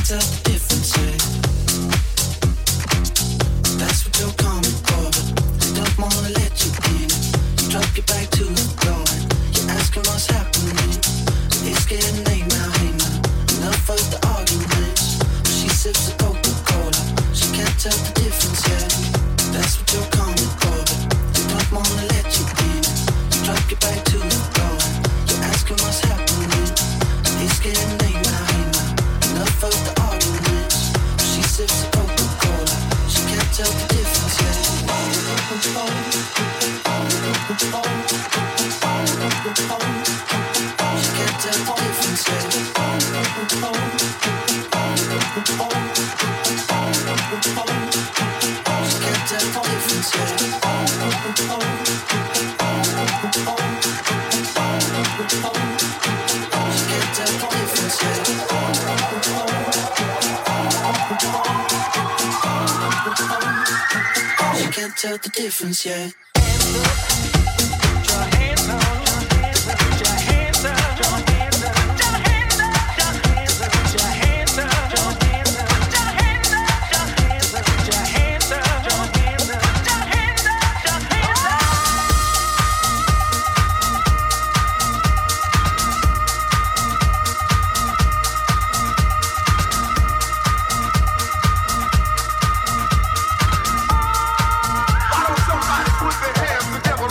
tell the difference, yeah. That's what you're coming for, but they don't wanna let you in. You drop your back to the floor and you're asking what's happening. It's getting late now, hey now. Enough of the arguments. She sips the Coca-Cola. She can't tell the difference, yeah. That's what you're coming for, but they don't wanna let you in. You drop your back to the floor and you're asking what's happening. It's getting late now, hey now. Enough of the arguments. She sips the Coca-Cola. She can't tell the difference, yeah. She can't tell the difference, yeah. She can't tell the difference, yeah. She can't tell the difference, yeah. She can't tell the difference, yeah. Somebody put their hands together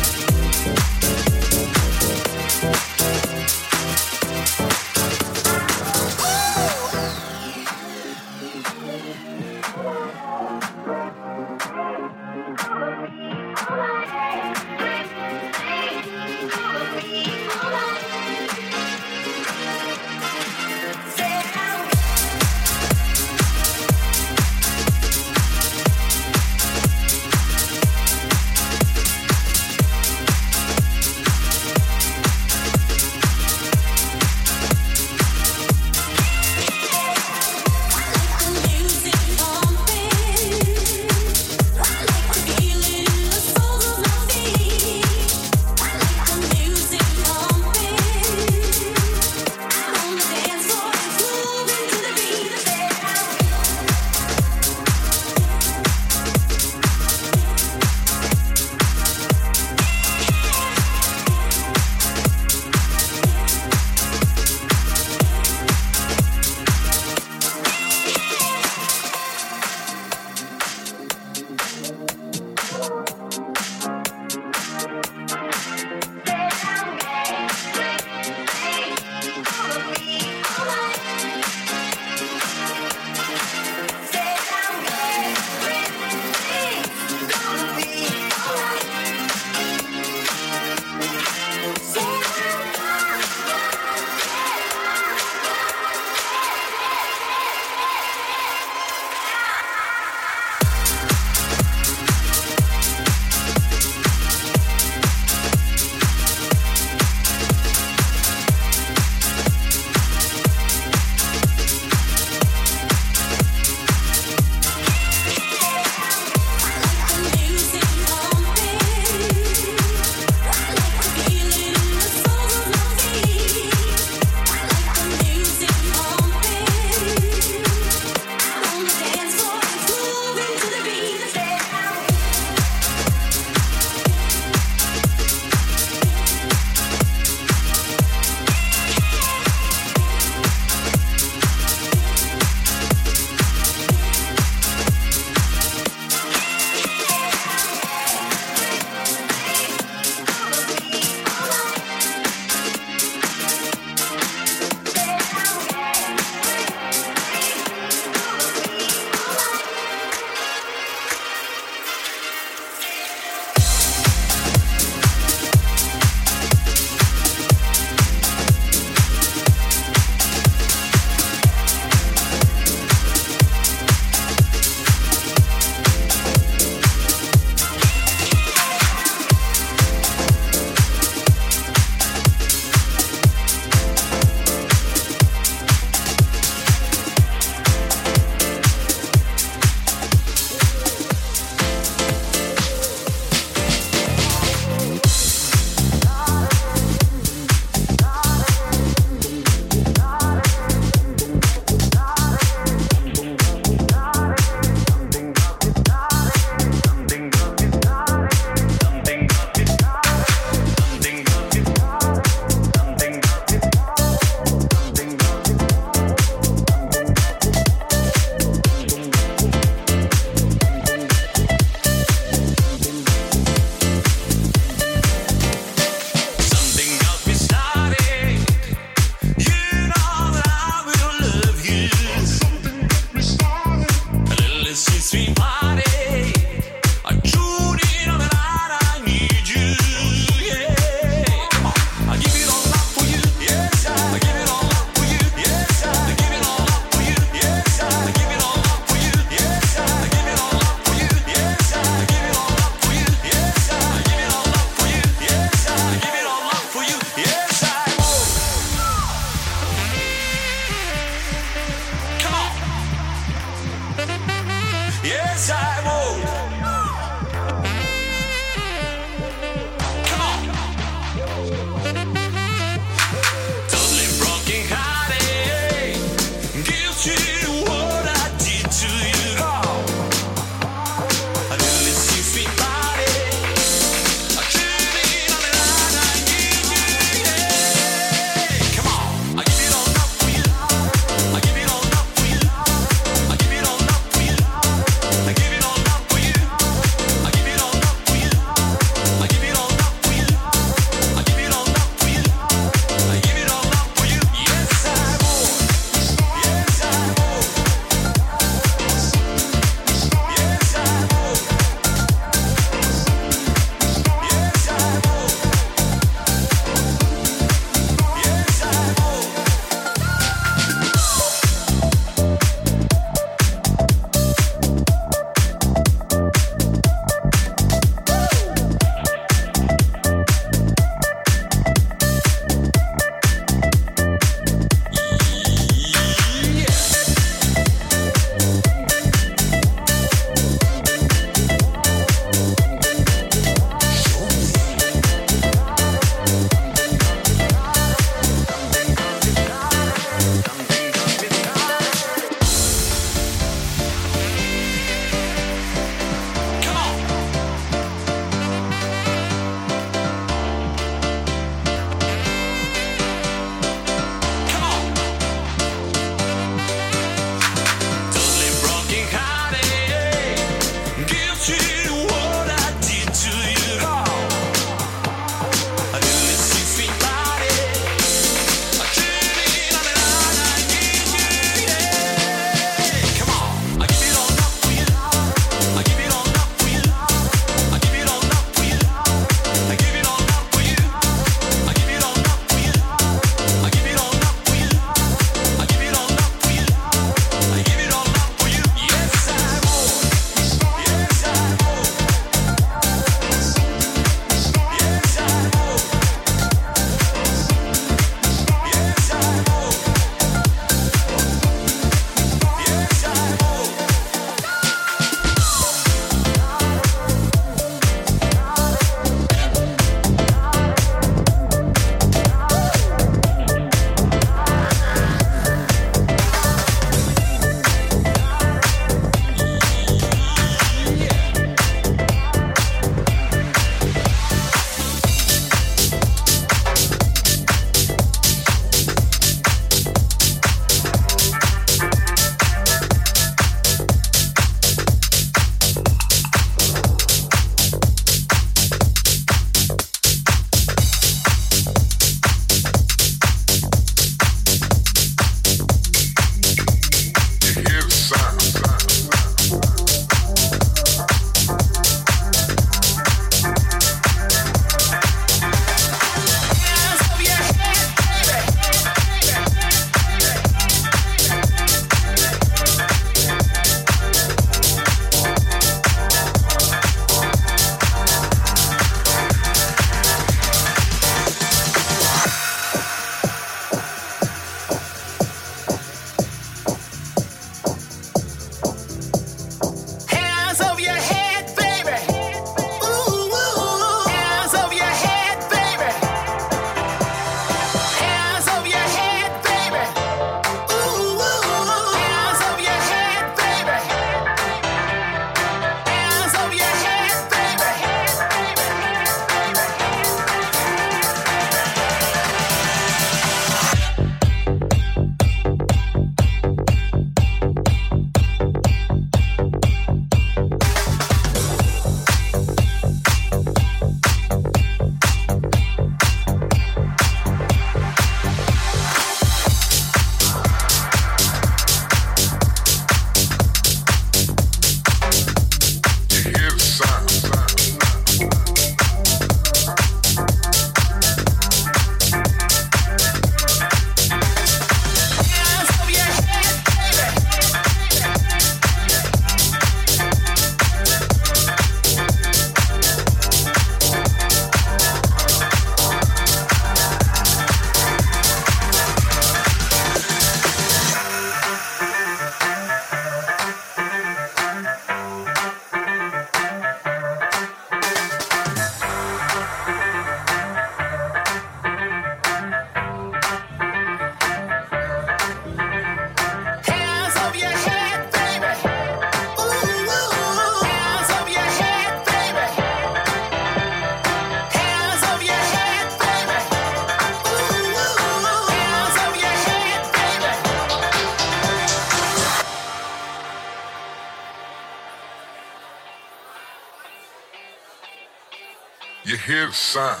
hear the sound.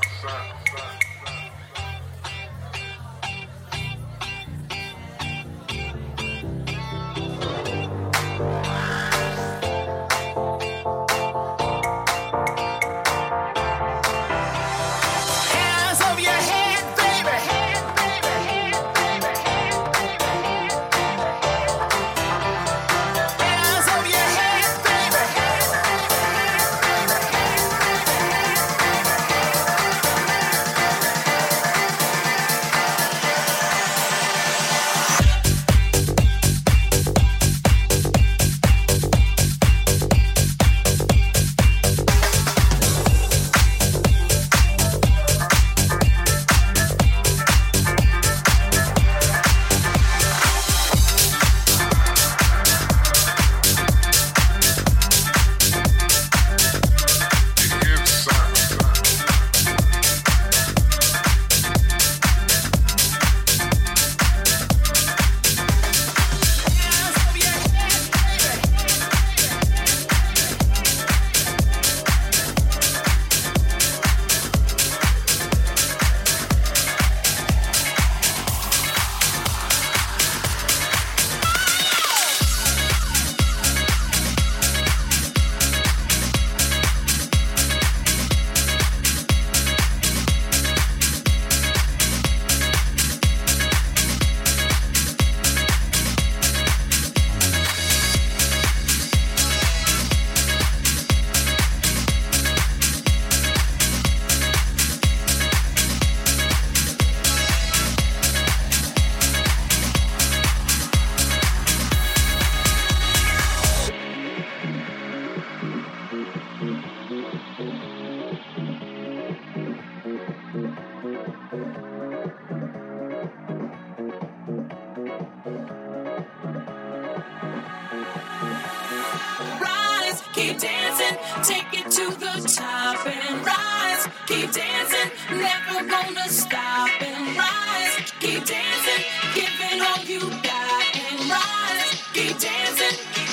Keep dancing, take it to the top and rise. Keep dancing, never gonna stop and rise. Keep dancing, giving all you got and rise. Keep dancing,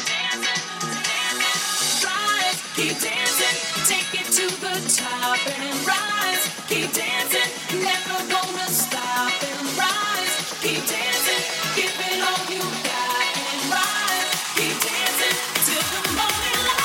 rise. Keep dancing, take it to the top and rise. Keep dancing, never gonna stop and rise. Keep dancing, giving all you got and rise. Keep dancing till the morning light.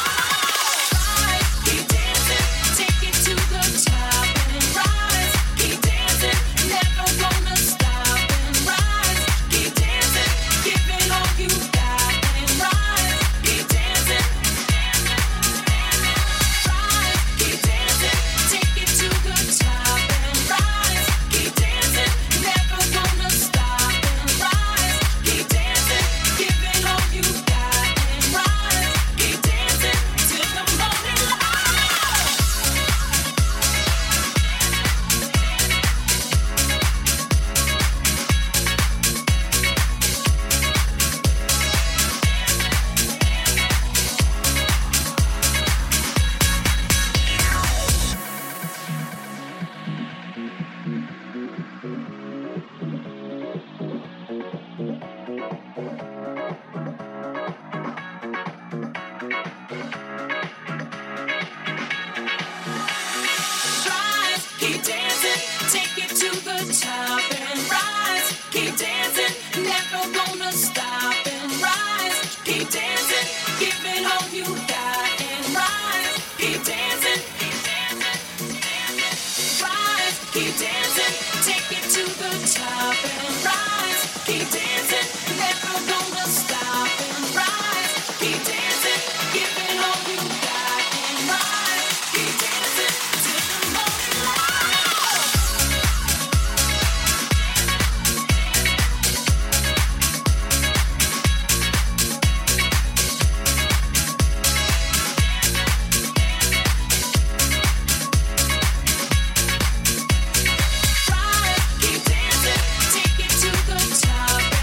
Top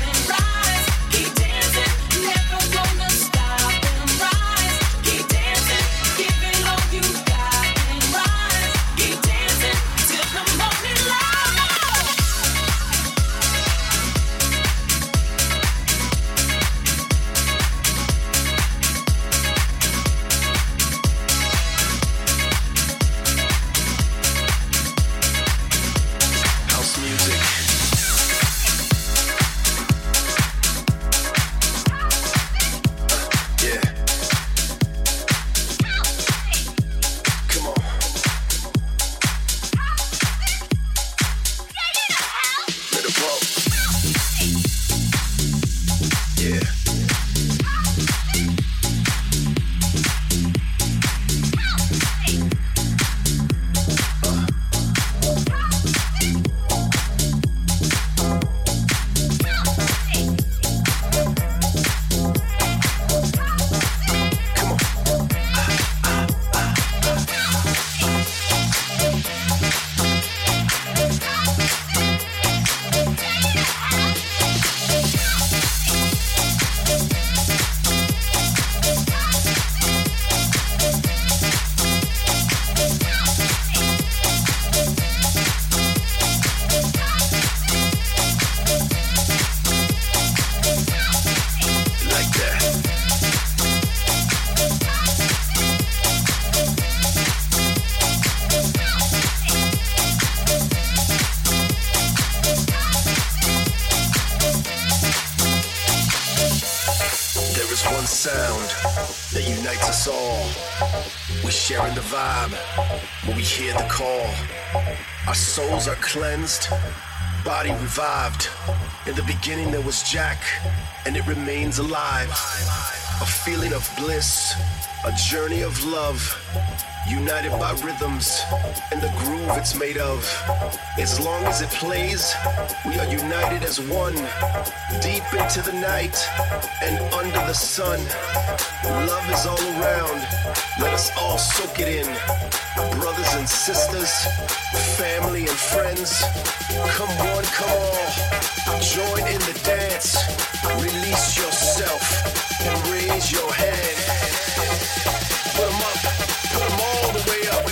one sound that unites us all. We're sharing the vibe when we hear the call. Our souls are cleansed, body revived. In the beginning there was Jack, and it remains alive. A feeling of bliss, a journey of love, united by rhythms and the groove it's made of. As long as it plays, we are united as one, deep into the night and under the sun. Love is all around, let us all soak it in. Brothers and sisters, family and friends, come one, come all, join in the dance, release yourself and raise your hand. Put 'em up, put 'em all the way up.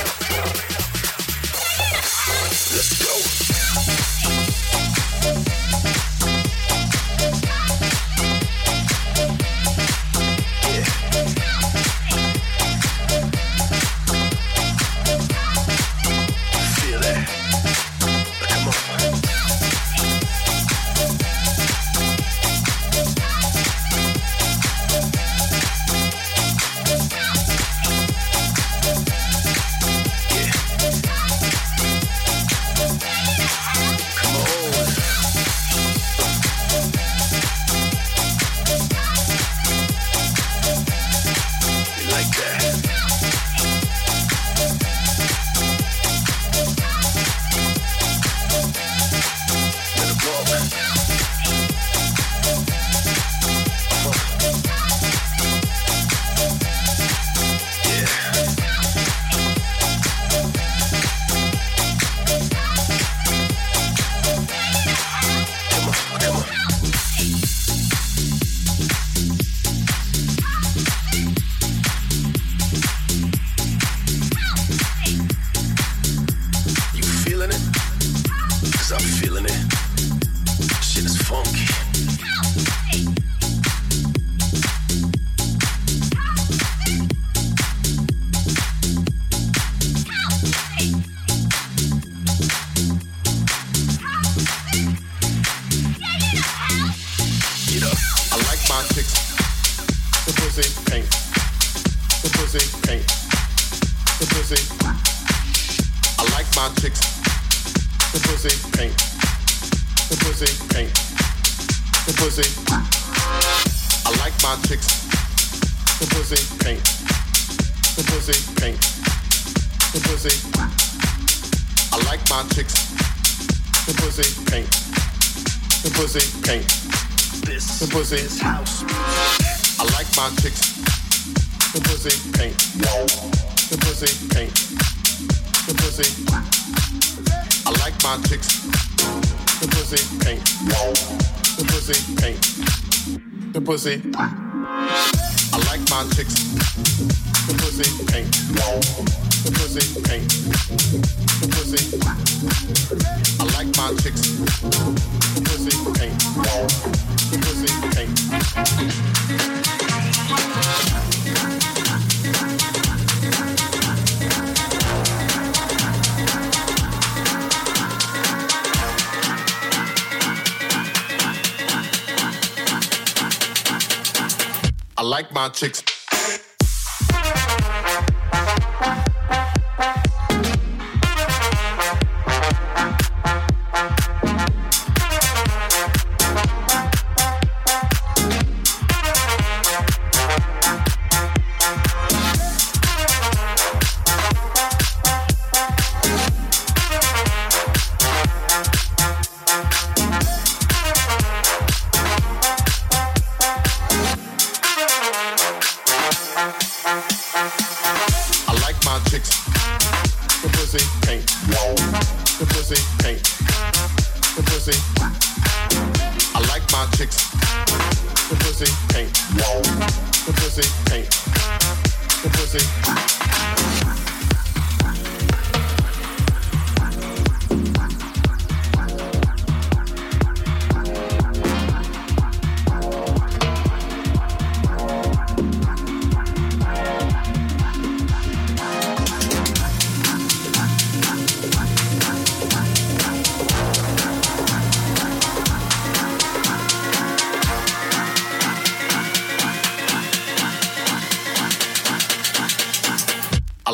Let's go. Pussy. I like my chicks. The pussy pink. The pussy pink. The pussy. I like my chicks. The pussy pink. The pussy pink. I like my chicks.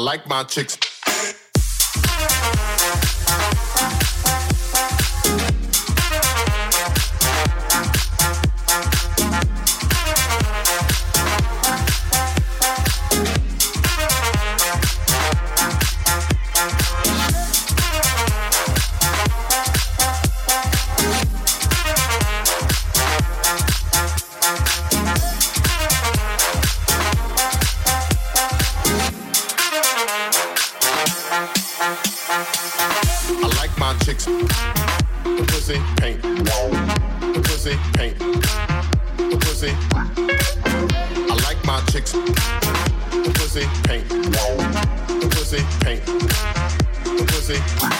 like my chicks. The pussy paint, the pussy paint, the pussy. I like my chicks. The pussy paint, the pussy paint, the pussy.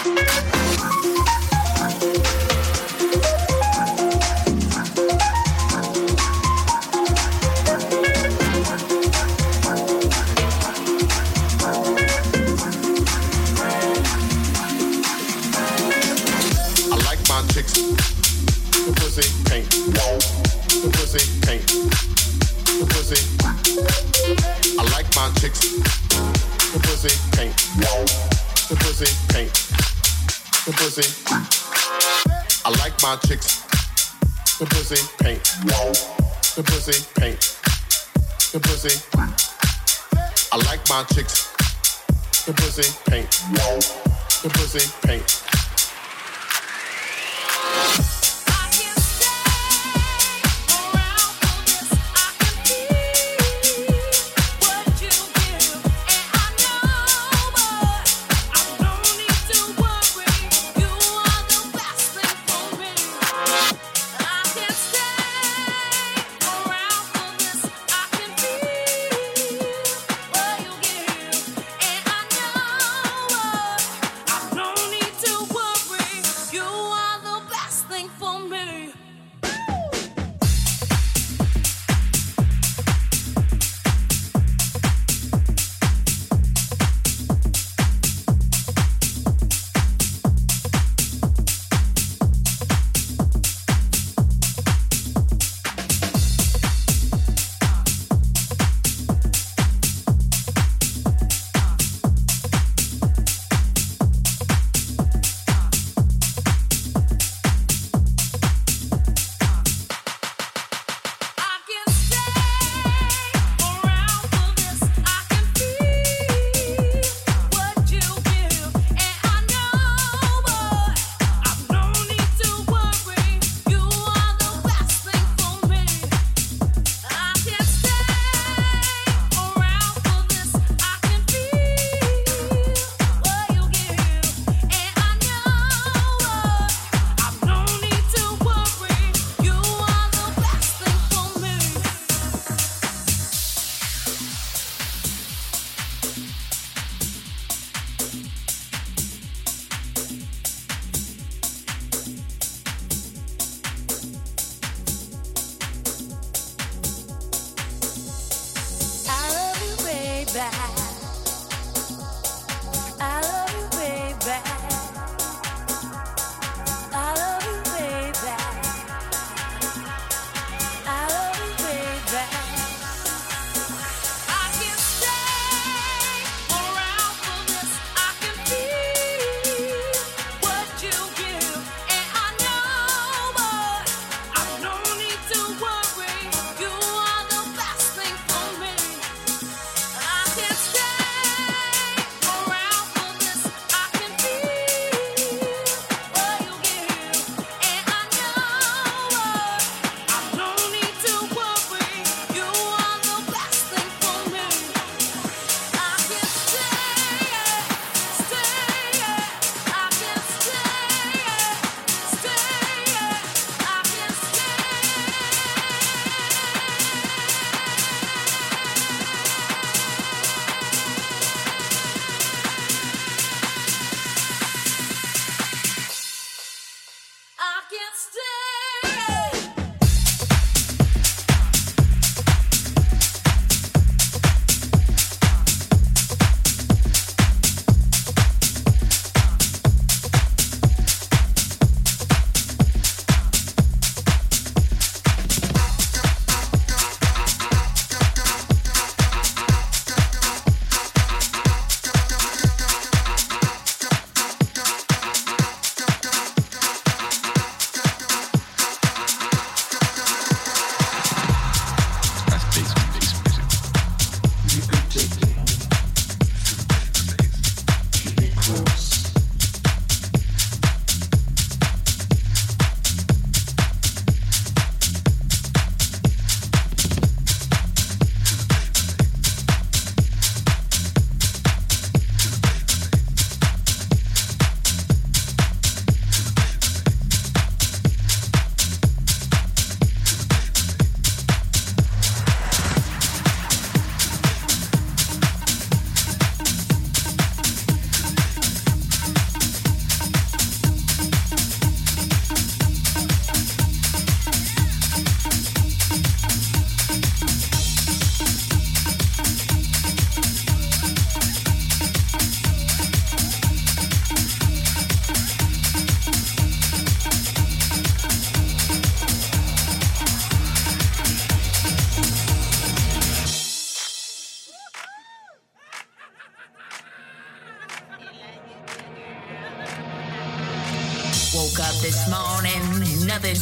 The pussy paint, the pussy paint, the pussy. I like my chicks. The pussy paint, the pussy paint, the pussy. I like my chicks. The pussy paint, the pussy paint, the pussy. I like my chicks. The pussy paint, the pussy paint. To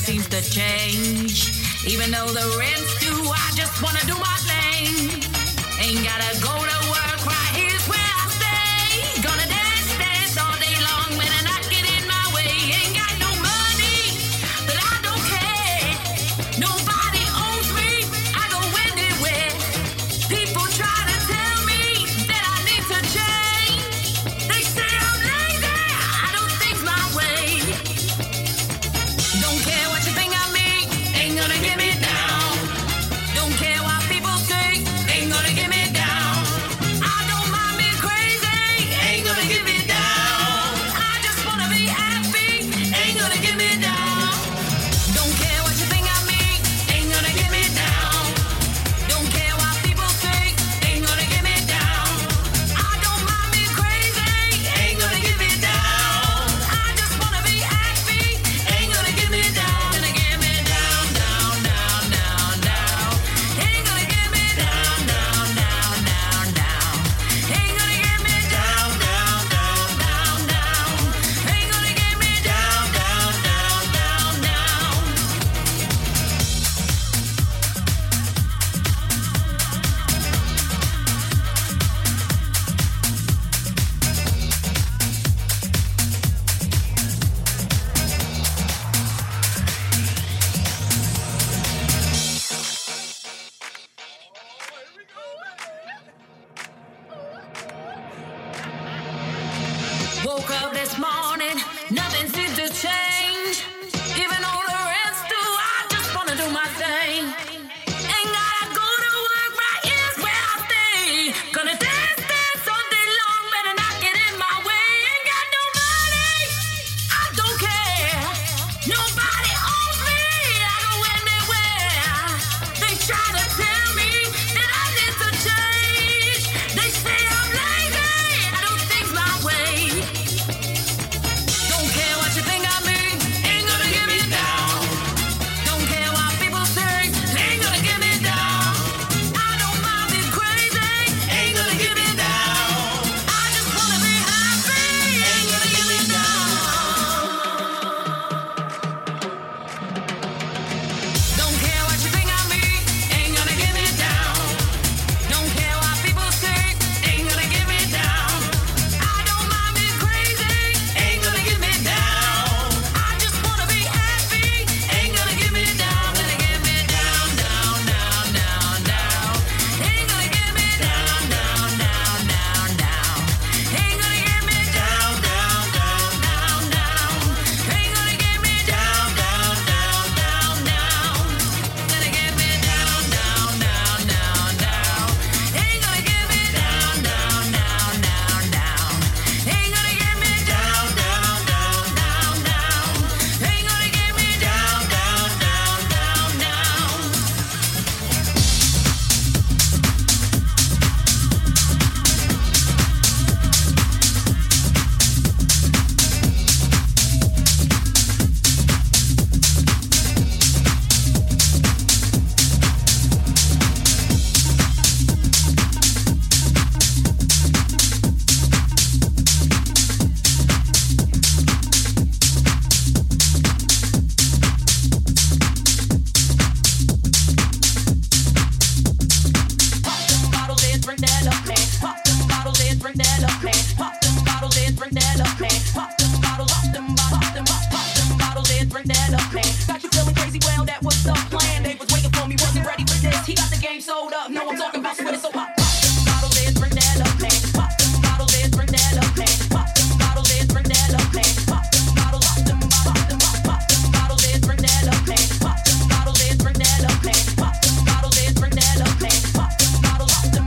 seems to change. Even though the rent's due, I just wanna do my thing. Ain't gotta go to work, right here's where I stay. Gonna dance, dance all day long, better not get in my way. Ain't got no money, but I don't care. Nobody owes me, I go anywhere. People try to tell me that I need to change. They say I'm lazy, I do things my way. Don't care what you think of me, ain't gonna get me down. Don't care what people say, ain't gonna get me down. I don't mind being crazy, ain't gonna get me down. I just wanna be happy, ain't gonna get me down. Don't care what you think of me, ain't gonna get me down. Don't care what people say, ain't gonna get me down. I don't mind being crazy, ain't gonna get me down. I just wanna be happy, ain't gonna get me down. Gonna get me down, down, down, down, down. Ain't gonna get me down, down, down, down, down. Ain't gonna get me down, down, down, down, down. Ain't gonna get me down, down, down, down, down. Woke up this morning, nothing seems to change. Even though the rent's due, I just wanna do my thing. Ain't gotta go to work, right here's where I stay. Gonna dance, dance all day long, better not get in my way. Ain't got no money, I don't care. Nobody owes me, I go anywhere. They try to tell me that I need to change. They say I'm lazy, I do things my way. Don't care what you think of me, ain't gonna get me down. Don't care what people say, ain't gonna get me down. I don't mind being crazy, ain't gonna get me down. I just wanna be happy, ain't gonna get me down. Don't care what you think of me, ain't gonna get me down. Don't care what people say, ain't gonna get me down. I don't mind being crazy, ain't gonna get me down. I just wanna be happy, ain't gonna get me down. Gonna get me down, down, down, down, down. Ain't gonna get me down, down, down, down, down. Ain't gonna get me down, down, down, down, down. Ain't gonna get me down, down, down, down, down. Gonna get me down, down, down, down, down. Ain't gonna get me down, down, down, down, down. Ain't gonna get me down, down, down, down, down. Ain't gonna get me down, down, down, down, down. Pop them bottles and drink that up, man. Pop them bottles and drink that up, man. Pop them bottles and drink that up, man. Pop them bottles, pop them bottles and drink that up, man. Got you feeling crazy? Well, that was the plan. They was waiting for me, wasn't ready for this. He got the game sold up. No, I'm talking about sweating, so pop them bottles and drink that up, man. Pop them bottles and drink that up, man. Pop them bottles and drink that up, man. Pop them bottles, pop them bottles and drink that up, man. Pop them bottles and drink that up, man. Pop them bottles and drink that up, man. Pop them bottles, pop them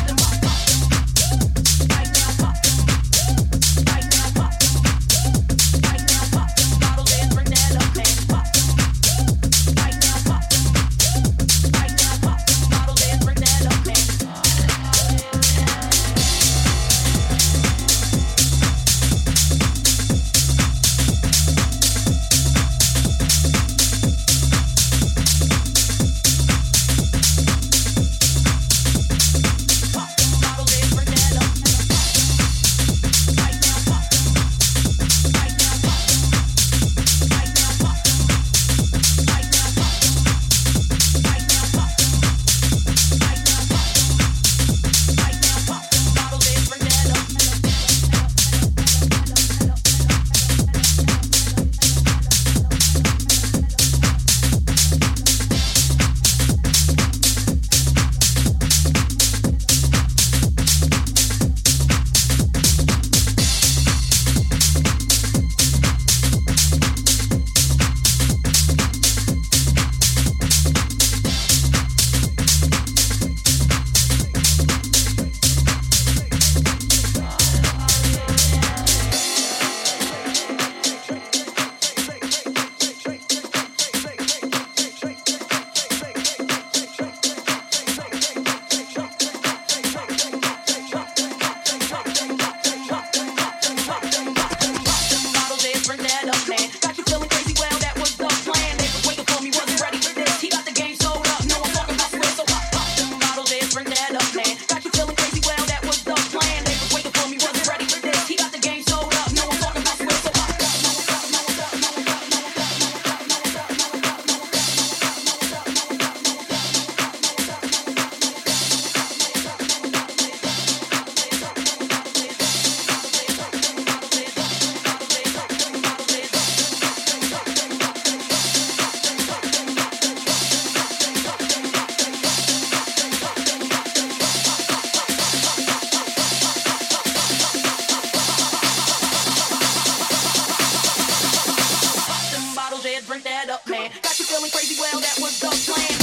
right now, pop them. Right now, pop them. Right now, pop them bottles and drink that up, man. Pop them. Right now, pop them. Right now, pop them bottles and drink that up, man. crazy, well, that was the plan.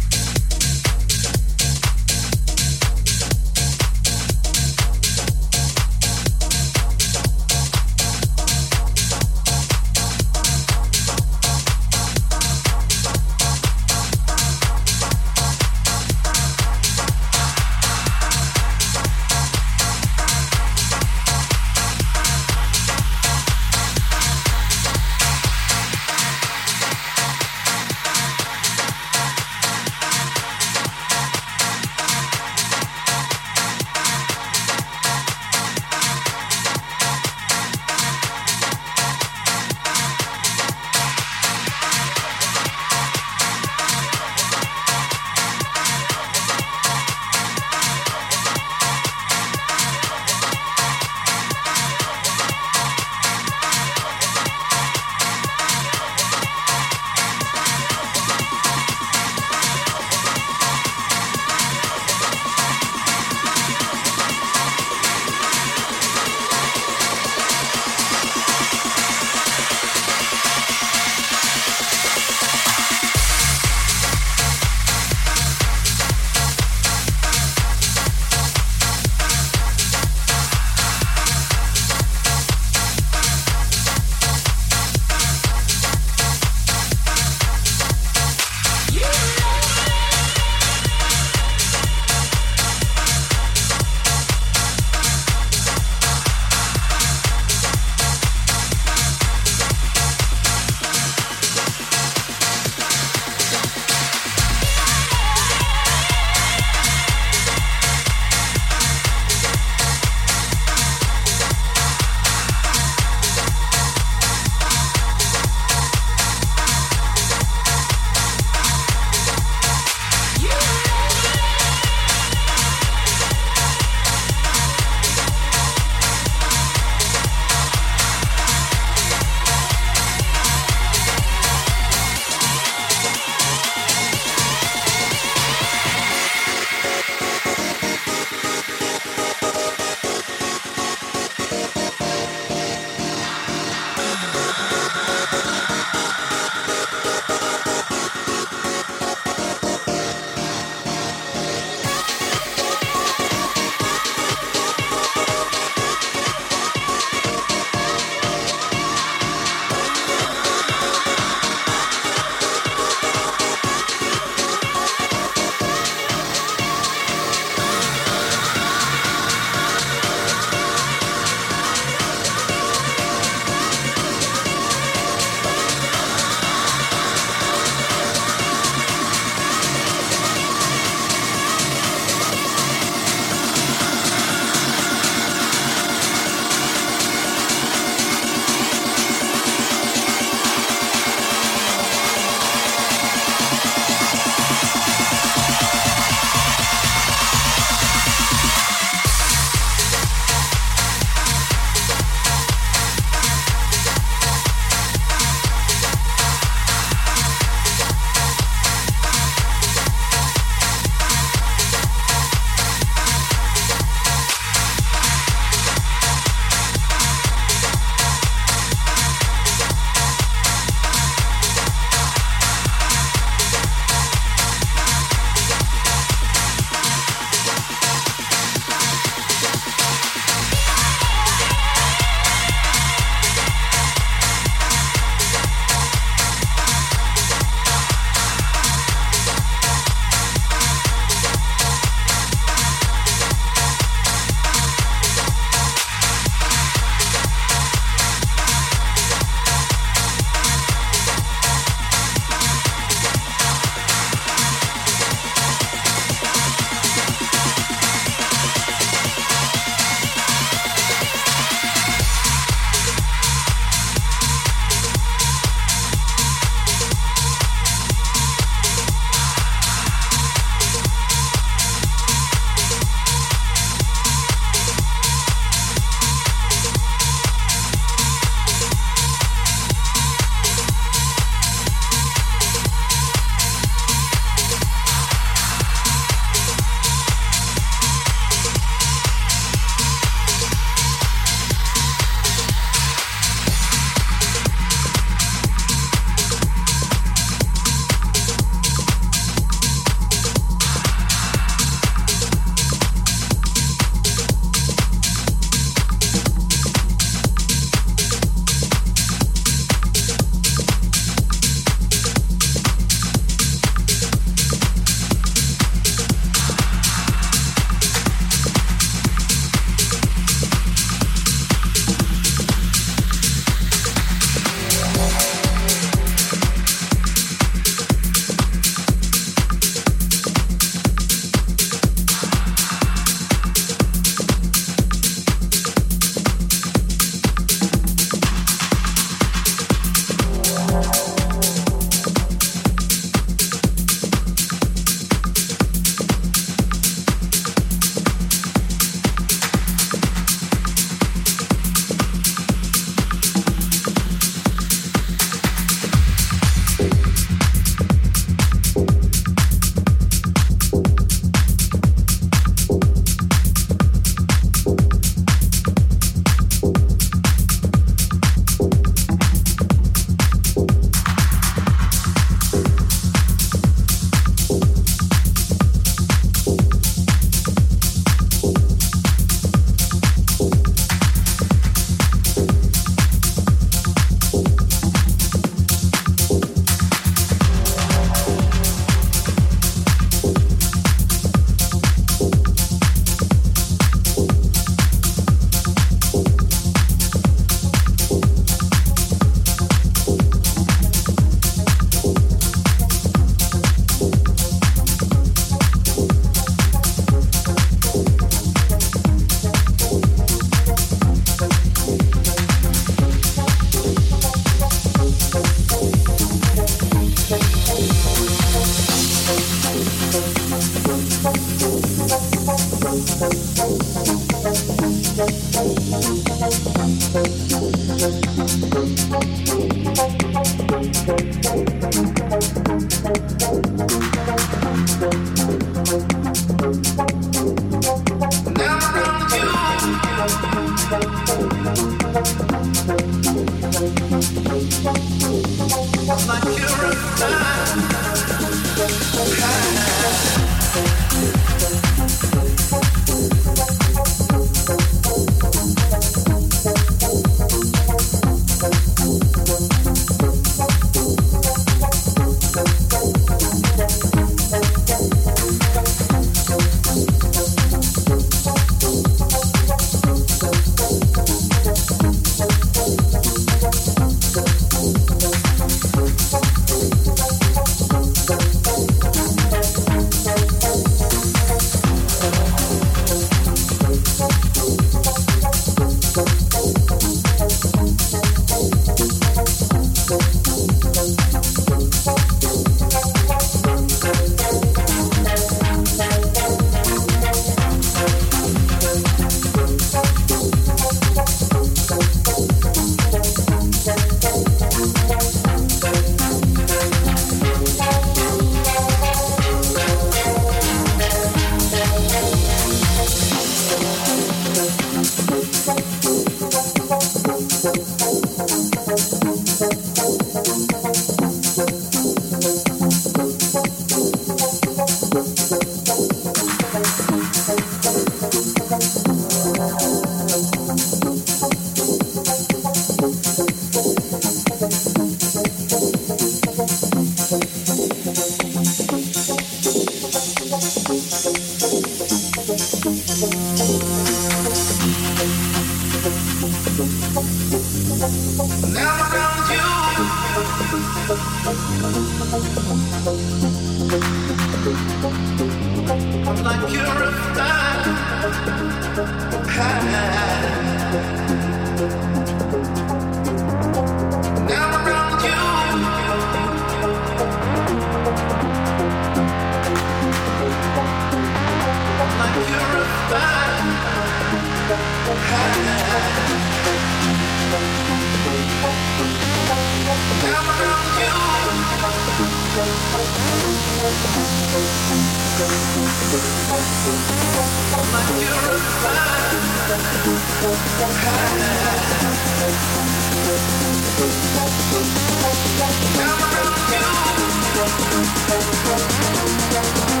Come around you.